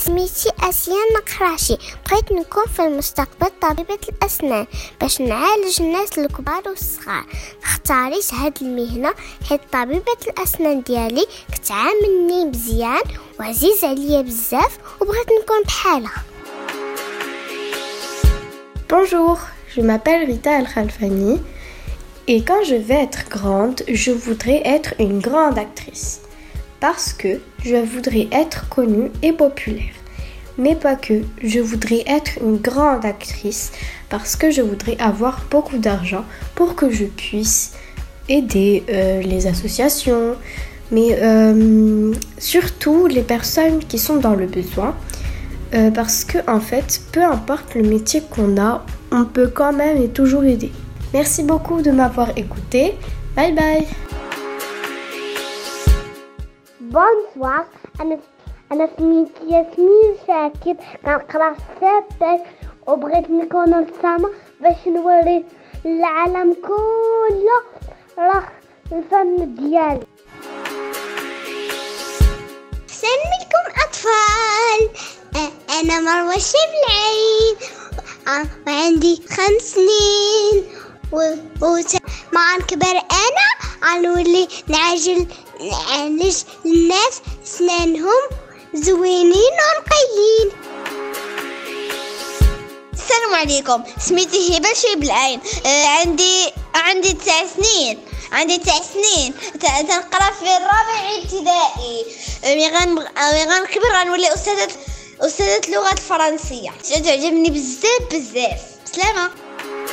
سميتي آسيا نقراشي. بغيت نكون في المستقبل طبيبة الأسنان باش نعالج الناس الكبار والصغار. اختاريت هاد المهنة حيت طبيبة الأسنان ديالي كتعاملني مزيان وعزيز عليا بزاف وبغيت نكون بحالها. Bonjour, je m'appelle Rita Al-Khalfani et quand je vais être grande, je voudrais être une grande actrice parce que je voudrais être connue et populaire. Mais pas que, je voudrais être une grande actrice parce que je voudrais avoir beaucoup d'argent pour que je puisse aider les associations, mais surtout les personnes qui sont dans le besoin. Parce que en fait, peu importe le métier qu'on a, on peut quand même et toujours aider. Merci beaucoup de m'avoir écouté. Bye bye. Bonsoir, أنا سميتي ياسمين شاكر كنقرا السابع وبغيت نكون رسامة باش نوري للعالم كله راه الفن ديالي. سلمكم أطفال، أنا مروة الشبلعين وعندي 5 سنين مع نكبر أنا عنولي نعالج الناس أسنانهم زوينين ونقيين. السلام عليكم، سميتي هبة الشبلعين، عندي 9 سنين. تنقرا في الرابع ابتدائي. مي غنكبر غنولي أستاذة اللغة الفرنسية. تعجبني بزاف. سلامة.